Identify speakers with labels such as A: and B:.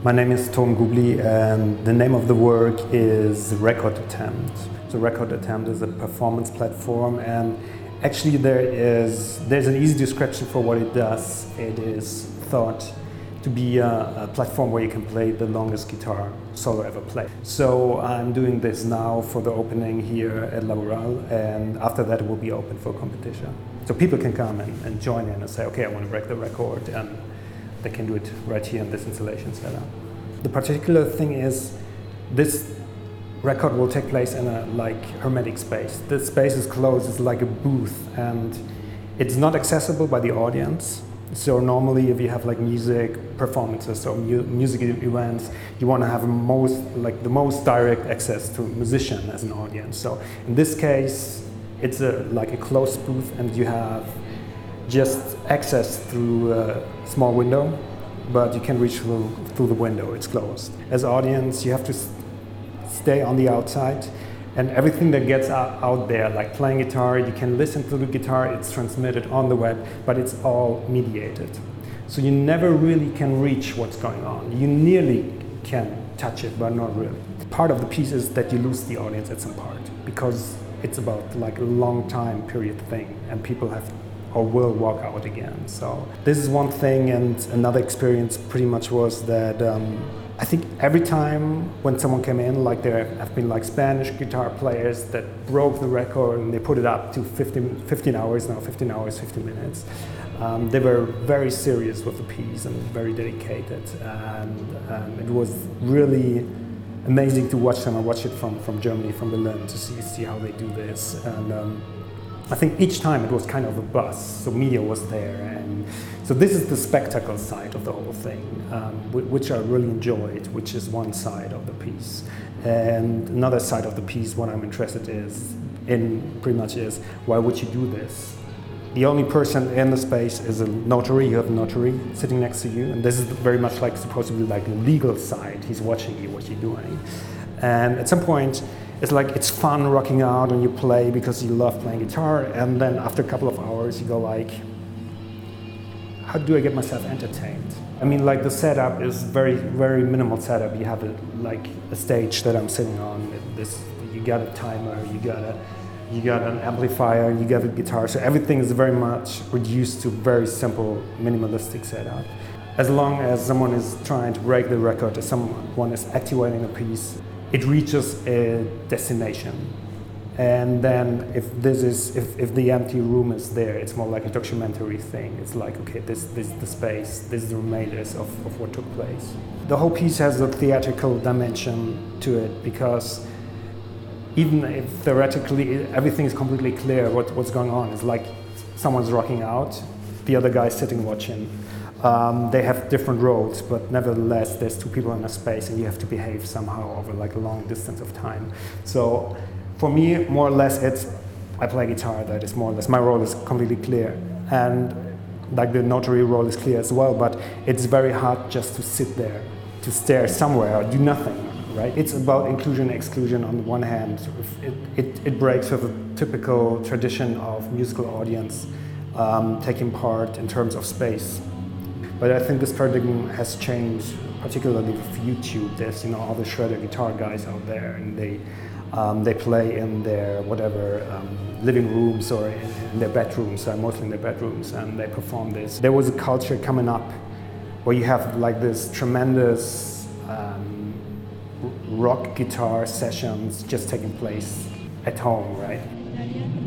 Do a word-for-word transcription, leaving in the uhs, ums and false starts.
A: My name is Tom Gubli, and the name of the work is Record Attempt. So Record Attempt is a performance platform, and actually there is there's an easy description for what it does. It is thought to be a, a platform where you can play the longest guitar solo ever played. So I'm doing this now for the opening here at Laboral, and after that it will be open for competition. So people can come and, and join in and say, okay, I want to break the record, and they can do it right here in this installation setup. The particular thing is this record will take place in a like hermetic space. The space is closed, it's like a booth, and it's not accessible by the audience. So normally if you have like music performances or mu music events, you want to have most like the most direct access to a musician as an audience. So in this case, it's a like a closed booth, and you have just access through a small window, but you can reach through, through the window, it's closed. As audience, you have to stay on the outside, and everything that gets out, out there, like playing guitar, you can listen to the guitar, it's transmitted on the web, but it's all mediated. So you never really can reach what's going on. You nearly can touch it, but not really. Part of the piece is that you lose the audience at some part, because it's about like a long time period thing, and people have or will walk out again. So this is one thing, and another experience pretty much was that um, I think every time when someone came in, like there have been like Spanish guitar players that broke the record and they put it up to fifteen, fifteen hours now, fifteen hours, fifteen minutes. Um, they were very serious with the piece and very dedicated, and um, it was really amazing to watch them. I watched it from, from Germany, from Berlin, to see, see how they do this. And, um, I think each time it was kind of a buzz, so media was there, and so this is the spectacle side of the whole thing, um, which I really enjoyed, which is one side of the piece. And another side of the piece, what I'm interested is in pretty much is, why would you do this? The only person in the space is a notary. You have a notary sitting next to you, and this is very much like supposed to be like the legal side. He's watching you, what you're doing. And at some point, it's like it's fun rocking out and you play because you love playing guitar, and then after a couple of hours you go like, how do I get myself entertained? I mean, like the setup is very, very minimal setup. You have a, like a stage that I'm sitting on. This, you got a timer, you got a, you got an amplifier, you got a guitar. So everything is very much reduced to very simple, minimalistic setup. As long as someone is trying to break the record, as someone is activating a piece, it reaches a destination. And then if this is, if, if the empty room is there, it's more like a documentary thing. It's like, okay, this, this is the space, this is the remainders of, of what took place. The whole piece has a theatrical dimension to it, because even if theoretically everything is completely clear what, what's going on, it's like someone's rocking out, the other guy's sitting watching. Um, they have different roles, but nevertheless, there's two people in a space, and you have to behave somehow over like a long distance of time. So, for me, more or less, it's I play guitar. That is more or less my role is completely clear, and like the notary role is clear as well. But it's very hard just to sit there, to stare somewhere or do nothing. Right? It's about inclusion, exclusion. On the one hand, it it, it breaks with a typical tradition of musical audience um, taking part in terms of space. But I think this paradigm has changed, particularly with YouTube. There's, you know, all the shredder guitar guys out there, and they um, they play in their whatever um, living rooms or in, in their bedrooms, uh, mostly in their bedrooms, and they perform this. There was a culture coming up where you have like this tremendous um, rock guitar sessions just taking place at home, right?